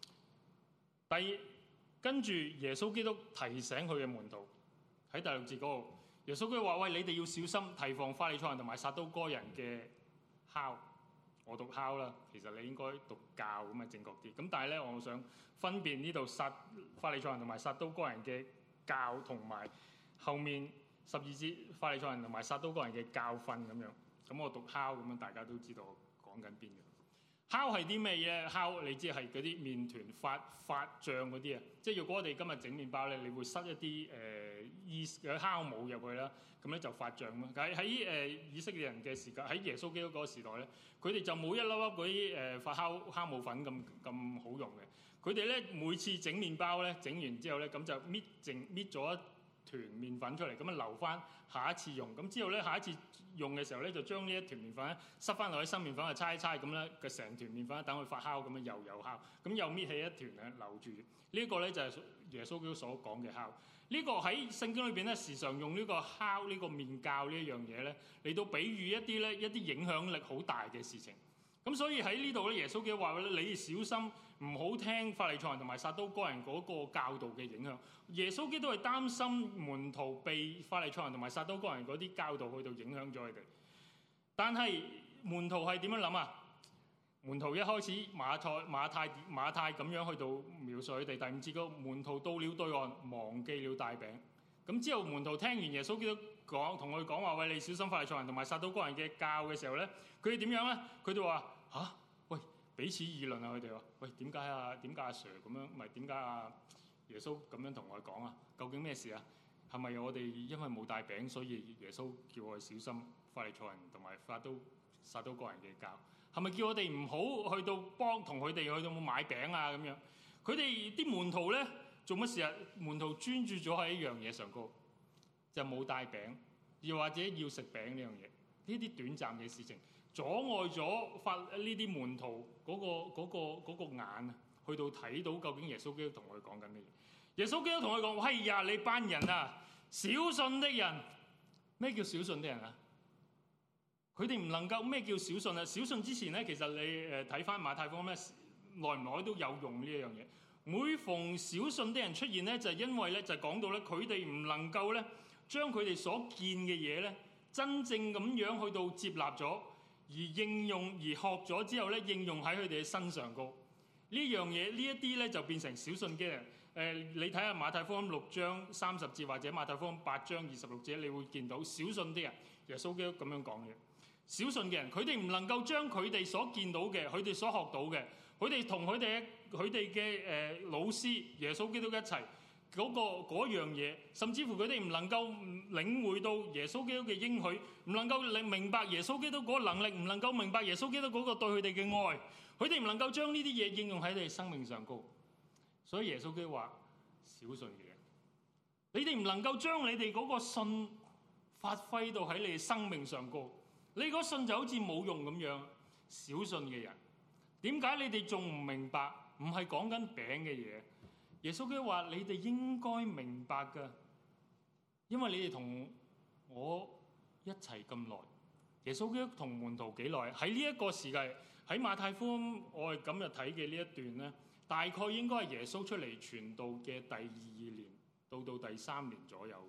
跟住耶穌基督提醒佢嘅門徒喺第6節嗰度，耶穌基督話：喂，你哋要小心提防法利賽人同埋撒都該人嘅酵。我讀酵啦，其實你應該讀教咁啊正確啲。咁但係咧，我想分辨呢度法利賽人同埋撒都該人嘅教，同埋後面12節法利賽人同埋撒都該人嘅教訓咁樣。咁我讀酵咁樣，大家都知道我講緊邊嘅。酵係啲咩嘢？酵你知係嗰啲麵團發脹嗰啲啊。即係如果我哋今日整麵包咧，你會塞一啲酵母入去啦，咁咧就發脹咯。喺以色列人嘅時間，喺耶穌基督嗰個時代咧，佢哋就冇一粒粒嗰啲發酵母粉咁好用嘅。佢哋咧每次整麵包咧，整完之後咧，咁就搣咗一團麵粉出嚟，咁樣留翻下一次用。咁之後咧，下一次用嘅時候咧，就將呢一團麵粉咧塞翻落去新麵粉，就搓一搓咁咧，個成團麵粉等佢發酵咁樣又酵，咁又搣起一團咧留住。呢個咧就係耶穌基督所講嘅酵。呢個喺聖經裏邊咧，時常用呢個酵呢個麵酵呢一樣嘢咧嚟到比喻一啲影響力好大嘅事情。咁所以喺呢度咧，耶穌基督話咧：你小心唔好聽法利賽人同埋撒都該人嗰個教導嘅影響。耶穌基督係擔心門徒被法利賽人同埋撒都該人嗰啲教導去到影響咗佢哋。但係門徒係點樣諗啊？門徒一開始馬太咁樣去到描述佢哋。第5節嗰門徒到了對岸，忘記了帶餅。咁之後門徒聽完耶穌基督同佢講話：喂，你小心法利賽人同埋撒都該人嘅教嘅時候咧，佢哋點樣咧？佢哋話：嚇，喂，彼此議論啊！佢哋話：喂，點解阿 Sir 咁樣？唔係點解阿耶穌咁樣同我講啊？究竟咩事啊？係咪我哋因為冇帶餅，所以耶穌叫我哋小心法利賽人同埋撒都該人嘅教？係咪叫我哋唔好去到同佢哋去到買餅啊？咁樣，佢哋啲門徒咧做乜事啊？門徒專注咗喺一樣嘢上高，就冇帶餅，又或者要食餅呢樣嘢。呢啲短暫嘅事情阻礙咗呢啲門徒嗰個眼啊，去到睇到究竟耶穌基督同佢講緊咩嘢。耶穌基督同佢講：哎呀，你班人啊，小信的人。咩叫小信的人啊？佢哋唔能夠。咩叫小信啊？小信之前咧，其實你睇翻馬太福音咧，耐唔耐都有用呢一樣嘢。每逢小信的人出現咧，就係因為咧就講到咧，佢哋唔能夠咧將佢哋所見嘅嘢咧，真正咁樣去到接納咗，而應用而學咗之後咧，應用喺佢哋嘅身上高。呢樣嘢呢一啲咧就變成小信嘅人。你睇下馬太福音6章30節或者馬太福音8章26節，你會見到小信啲人，耶穌基督咁樣講嘅。小信嘅人，佢哋唔能夠將佢哋所見到嘅，佢哋所學到嘅，佢哋同佢哋嘅老師耶穌基督一齊嗰樣嘢，甚至乎佢哋唔能夠領會到耶穌基督嘅應許，唔能夠明白耶穌基督嗰個能力，唔能夠明白耶穌基督嗰個對佢哋嘅愛，佢哋唔能夠將呢啲嘢應用喺佢哋生命上高。所以耶穌基督話：小信嘅人，你哋唔能夠將你哋嗰個信發揮到喺你哋生命上高。你嗰信就好似冇用咁樣。小信嘅人，點解你哋仲唔明白？唔係講緊餅嘅嘢。耶穌基督話：你哋應該明白㗎，因為你哋同我一齊咁耐。耶穌基督同門徒幾耐？喺呢一個時間，喺馬太福音我哋今日睇嘅呢一段咧，大概應該係耶穌出嚟傳道嘅第2年到第3年左右。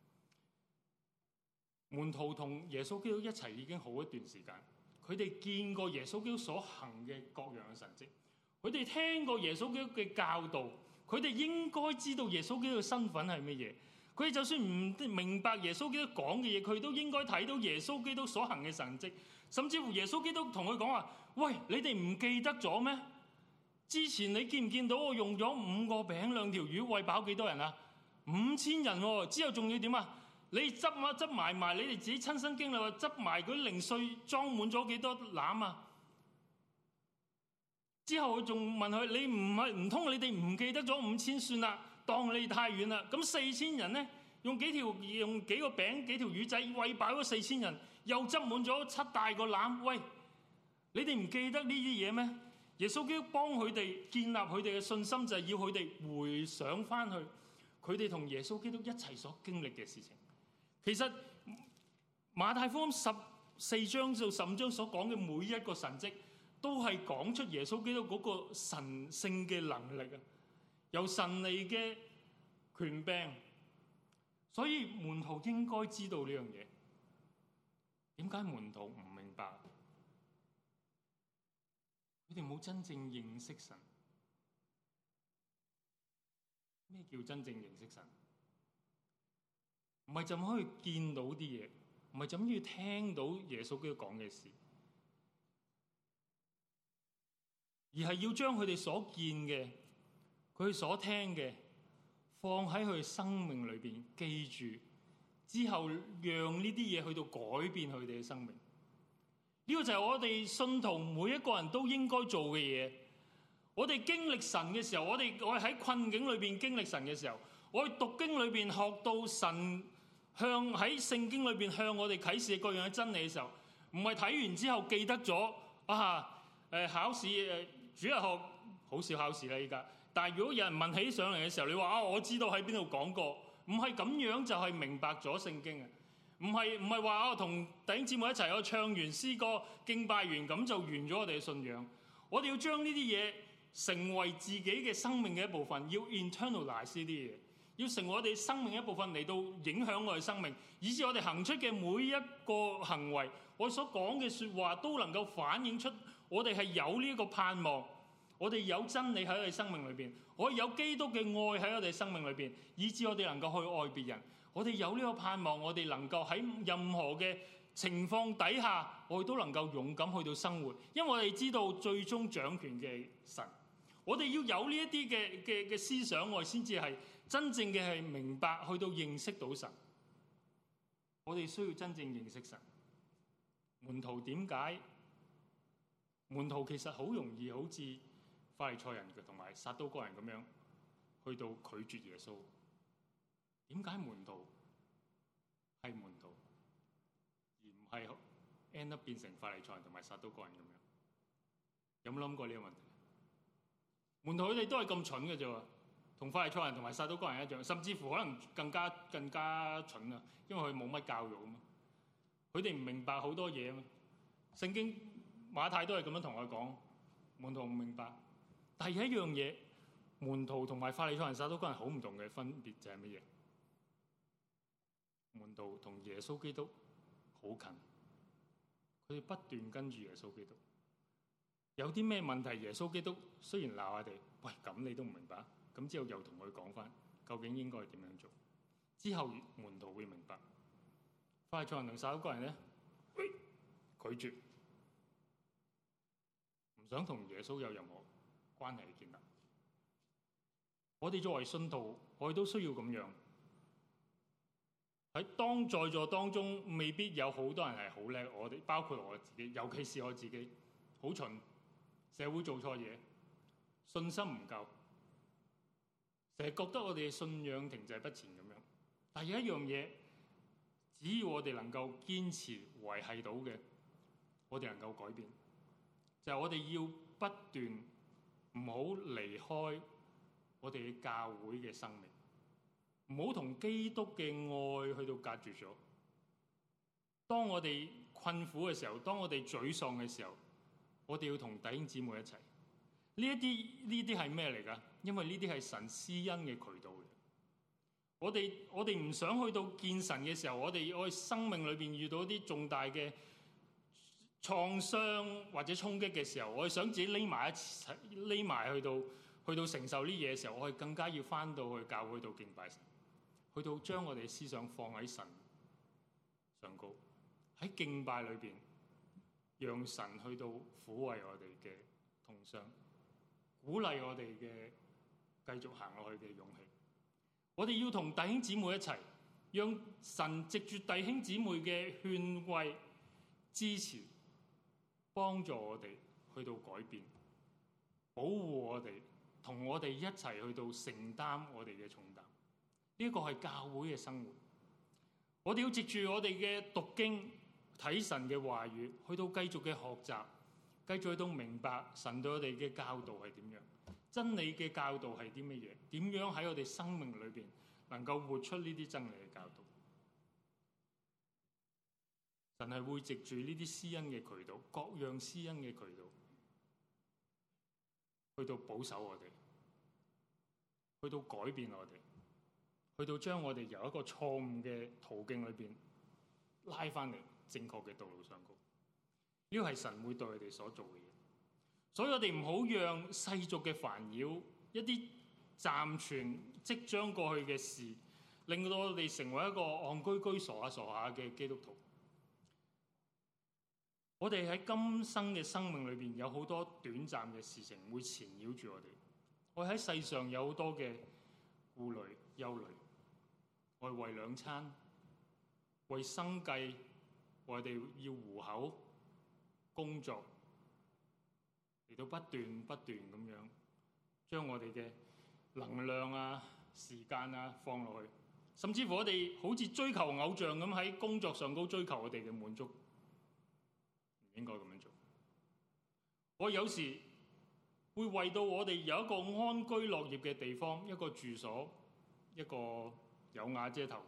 門徒同耶穌基督一齊已經好一段時間，佢哋見過耶穌基督所行嘅各樣嘅神蹟，佢哋聽過耶穌基督嘅教導，佢哋應該知道耶穌基督嘅身份係乜嘢。佢哋就算唔明白耶穌基督講嘅嘢，佢都應該睇到耶穌基督所行嘅神蹟。 甚至乎耶穌基督同佢講話：喂，你哋唔記得咗咩？之前你見唔見到我用咗5個餅2條魚餵飽幾多人啊？5000人喎。之後仲要點啊？你執埋，你哋自己親身經歷話執埋嗰啲零碎裝滿咗幾多籃啊？之後佢仲問佢：你唔通你哋唔記得咗5000算啦？當你哋太遠啦。咁4000人咧，用幾個餅幾條魚仔餵飽咗4000人，又執滿咗7大個籃。喂，你哋唔記得呢啲嘢咩？耶穌基督幫佢哋建立佢哋嘅信心，就係要佢哋回想翻去佢哋同耶穌基督一齊所經歷嘅事情。其實馬太福音14章到15章所講嘅每一個神蹟，都係講出耶穌基督嗰個神聖嘅能力啊，由神嚟嘅權柄。所以門徒應該知道呢樣嘢。點解門徒唔明白？佢哋冇真正認識神。咩叫真正認識神？唔係就咁可以見到啲嘢，唔係就咁要聽到耶穌基督講嘅事，而係要將佢哋所見嘅、佢哋所聽嘅，放喺佢哋生命裏邊記住，之後讓呢啲嘢去到改變佢哋嘅生命。呢個就係我哋信徒每一個人都應該做嘅嘢。我哋經歷神嘅時候，我哋喺困境裏邊經歷神嘅時候，我哋讀經裏邊學到神喺聖經裏邊向我哋啟示各樣嘅真理嘅時候，唔係睇完之後記得咗考試主日學好少考試啦依家。但係如果有人問起上嚟嘅時候，你話我知道喺邊度講過，唔係咁樣就係明白咗聖經啊！唔係話我同弟兄姊妹一齊唱完詩歌敬拜完咁就完咗我哋嘅信仰。我哋要將呢啲嘢成為自己嘅生命嘅一部分，要 internalize 呢啲嘢，要成為我哋生命一部分嚟到影響我哋生命，以致我哋行出嘅每一個行為，我所講嘅說話都能夠反映出我哋係有呢一個盼望，我哋有真理喺我哋生命裏邊，我哋有基督嘅愛喺我哋生命裏邊，以致我哋能夠去愛別人。我哋有呢個盼望，我哋能夠喺任何嘅情況底下，我哋都能夠勇敢去到生活，因為我哋知道最終掌權嘅神。我哋要有呢一啲嘅思想，我哋先至係真正嘅係明白，去到認識到神。我哋需要真正認識神。門徒點解？門徒其實好容易好似法利賽人同埋撒都該人咁樣，去到拒絕耶穌。點解門徒係門徒，而唔係 end up 變成法利賽人同埋撒都該人咁樣？有冇諗過呢個問題？門徒佢哋都係咁蠢嘅啫喎，同法利賽人同埋撒都該人一樣，甚至乎可能更加蠢啊！因為佢冇乜教育啊嘛，佢哋唔明白好多嘢啊嘛。聖經馬太都係咁樣同我講，門徒唔明白。但係有一樣嘢，門徒同埋法利賽人、撒都該人好唔同嘅分別就係乜嘢？門徒同耶穌基督好近，佢哋不斷跟住耶穌基督。有啲咩問題，耶穌基督雖然鬧我哋，喂，咁你都唔明白，咁之後又同佢講翻究竟應該係點樣做，之後門徒會明白。法利賽人同撒都該人咧，拒絕，唔想同耶穌有任何關係嘅建立。我哋作為信徒，我哋都需要咁樣。喺在座當中，未必有好多人係好叻，我哋包括我自己，尤其是我自己，好蠢，社會做錯嘢，信心唔夠，成日覺得我哋嘅信仰停滯不前咁樣。但係有一樣嘢，只要我哋能夠堅持維繫到嘅，我哋能夠改變，就係我哋要不斷唔好離開我哋嘅教會嘅生命。唔好同基督嘅愛去到隔絕咗。當我哋困苦嘅時候，當我哋沮喪嘅時候，我哋要同弟兄姊妹一齊。呢啲係咩嚟㗎？因為呢啲係神施恩嘅渠道嚟。我哋唔想去到見神嘅時候，我哋生命裏邊遇到一啲重大嘅創傷或者衝擊嘅時候，我哋想自己匿埋去到承受呢嘢嘅時候，我哋更加要返到去教會度敬拜神。去到將我哋思想放喺神上高，喺敬拜裏邊讓神去到撫慰我哋嘅痛傷，鼓勵我哋嘅繼續行落去嘅勇氣。我哋要同弟兄姊妹一齊，讓神藉住弟兄姊妹嘅勸慰、支持，幫助我哋去到改變，保護我哋，同我哋一齊去到承擔我哋嘅重擔。呢個係教會嘅生活。我哋要藉住我哋嘅讀經、睇神嘅話語，去到繼續嘅學習，繼續去到明白神對我哋嘅教導係點樣，真理嘅教導係啲乜嘢，點樣喺我哋生命裏邊能夠活出呢啲真理嘅教導。神係會藉住呢啲施恩嘅渠道，各樣施恩嘅渠道，去到保守我哋，去到改變我哋，去到將我哋由一個錯誤嘅途徑裏邊拉翻嚟正確嘅道路上高。呢個係神會對我哋所做嘅嘢，所以我哋唔好讓世俗嘅煩擾、一啲暫存即將過去嘅事，令到我哋成為一個戇居居、傻下傻下嘅基督徒。我哋喺今生嘅生命裏邊有好多短暫嘅事情會纏繞住我哋。我喺世上有好多嘅顧慮、憂慮。我哋為兩餐、為生計，我哋要糊口、工作，嚟到不斷咁樣將我哋嘅能量啊、時間啊放落去，甚至乎我哋好似追求偶像咁喺工作上高追求我哋嘅滿足。唔應該咁樣做。我有時會為到我哋有一個安居樂業嘅地方，一個住所，一個有瓦遮頭，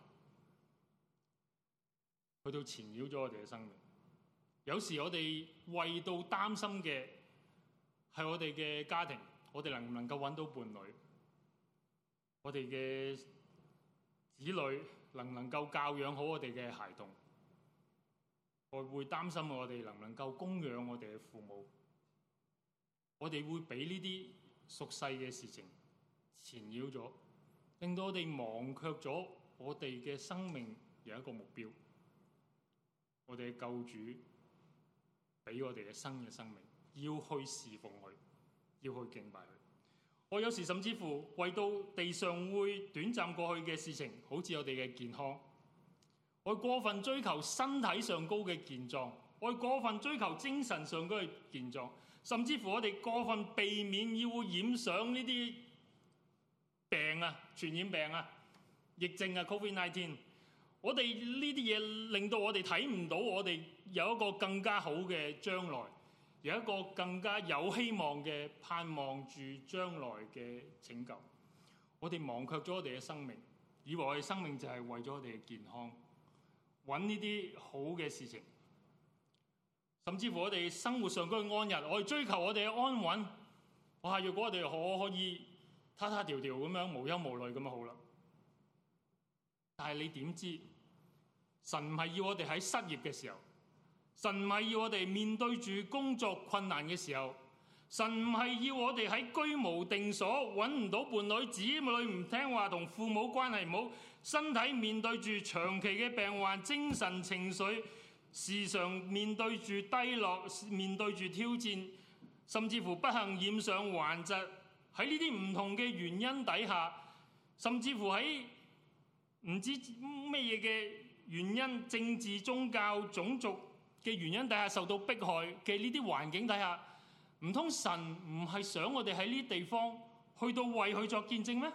去到纏繞咗我哋嘅生命。有時我哋為到擔心嘅係我哋嘅家庭，我哋能唔能夠揾到伴侶，我哋嘅子女能唔能夠教養好我哋嘅孩童。我會擔心我哋能唔能夠供養我哋嘅父母，我哋會俾呢啲俗世嘅事情纏繞咗，令到我哋忘卻咗我哋嘅生命有一個目標。我哋嘅救主俾我哋嘅新嘅生命，要去侍奉佢，要去敬拜佢。我有時甚至乎為到地上會短暫過去嘅事情，好似我哋嘅健康，我過分追求身體上高嘅健壯，我過分追求精神上高嘅健壯，甚至乎我哋過分避免要染上呢啲病啊、傳染病啊、疫症啊 COVID-19。我哋呢啲嘢令到我哋睇唔到我哋有一個更加好嘅將來，有一個更加有希望嘅盼望住將來嘅拯救。我哋忘卻咗我哋嘅生命，以為我哋生命就係為咗我哋嘅健康，揾呢啲好嘅事情，甚至乎我哋生活上嗰個安逸，我哋追求我哋嘅安穩。哇！如果我哋可以他他條條咁樣無憂無慮咁就好啦。但係你點知？神唔係要我哋喺失業嘅時候，神唔係要我哋面對住工作困難嘅時候，神唔係要我哋喺居無定所、揾唔到伴侶、子女唔聽話、同父母關係唔好、身體面對住長期嘅病患、精神情緒時常面對住低落、面對住挑戰，甚至乎不幸染上患疾。喺呢啲唔同嘅原因底下，甚至乎喺唔知咩嘢嘅原因、政治、宗教、種族嘅原因底下受到迫害嘅呢啲環境底下，唔通神唔係想我哋喺呢啲地方去到為佢作見證咩？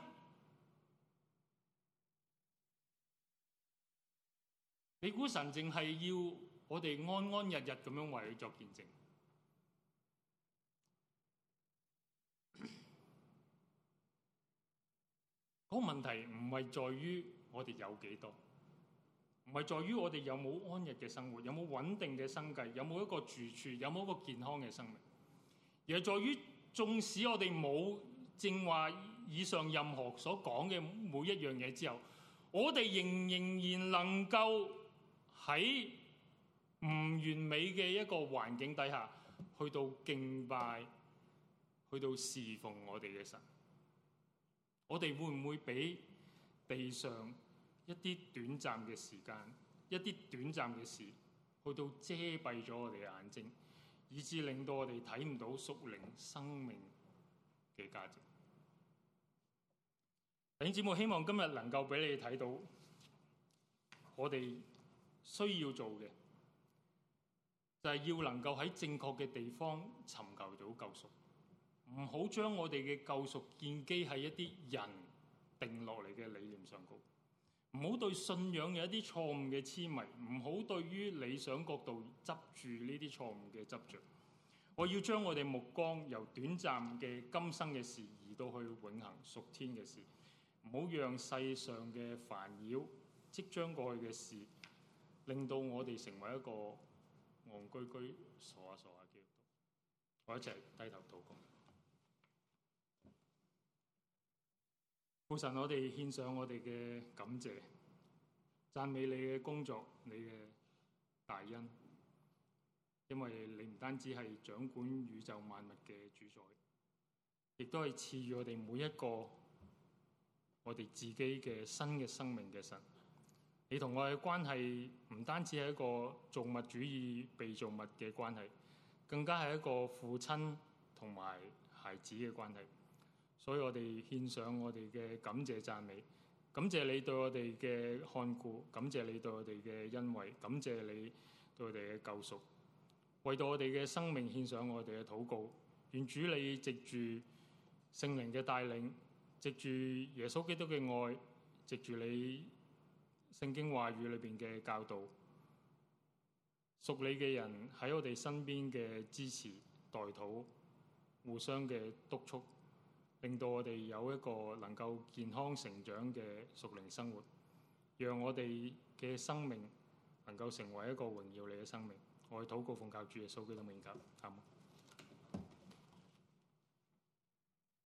你估神淨係要我哋安安逸逸咁樣為佢作見證？嗰個問題唔係在於我哋有幾多，唔係在於我哋有冇安逸嘅生活，有冇穩定嘅生計，有冇一個住處，有冇一個健康嘅生命，而係在於縱使我哋冇正話以上任何所講嘅每一樣嘢之後，我哋仍然能夠喺唔完美嘅一個環境底下，去到敬拜，去到侍奉我哋嘅神。我哋會唔會俾地上一啲短暫嘅時間、一啲短暫嘅事去到遮蔽咗我哋嘅眼睛，以致令到我哋睇唔到屬靈生命嘅價值。弟兄姊妹，希望今日能夠俾你睇到，我哋需要做嘅就係要能夠喺正確嘅地方尋求到救贖，唔好將我哋嘅救贖建基喺一啲人定落嚟嘅理念上高，唔好對信仰有一啲錯誤嘅痴迷，唔好對於理想角度執住呢啲錯誤嘅執着。我要將我哋目光由短暫嘅今生嘅事移到去永恆屬天嘅事，唔好讓世上嘅煩擾即將過去嘅事令到我哋成為一個戇居居傻下傻下嘅基督徒。我一齊低頭禱告。父神，我哋獻上我哋嘅感謝，讚美你嘅工作，你嘅大恩，因為你唔單止係掌管宇宙萬物嘅主宰，亦都係賜予我哋每一個我哋自己嘅新嘅生命嘅神。你同我嘅關係唔單止係一個造物主義被造物嘅關係，更加係一個父親同埋孩子嘅關係。所以我哋獻上我哋嘅感謝讚美，感謝你對我哋嘅看顧，感謝你對我哋嘅恩惠，感謝你對我哋嘅救贖，為到我哋嘅生命獻上我哋嘅禱告。願主你藉住聖靈嘅帶領，藉住耶穌基督嘅愛，藉住你聖經話語裏邊嘅教導，屬你嘅人喺我哋身邊嘅支持代禱，互相嘅督促，令到我哋有一個能夠健康成長嘅屬靈生活，讓我哋嘅生命能夠成為一個榮耀你嘅生命。我哋禱告奉靠主耶穌基督名求，阿們。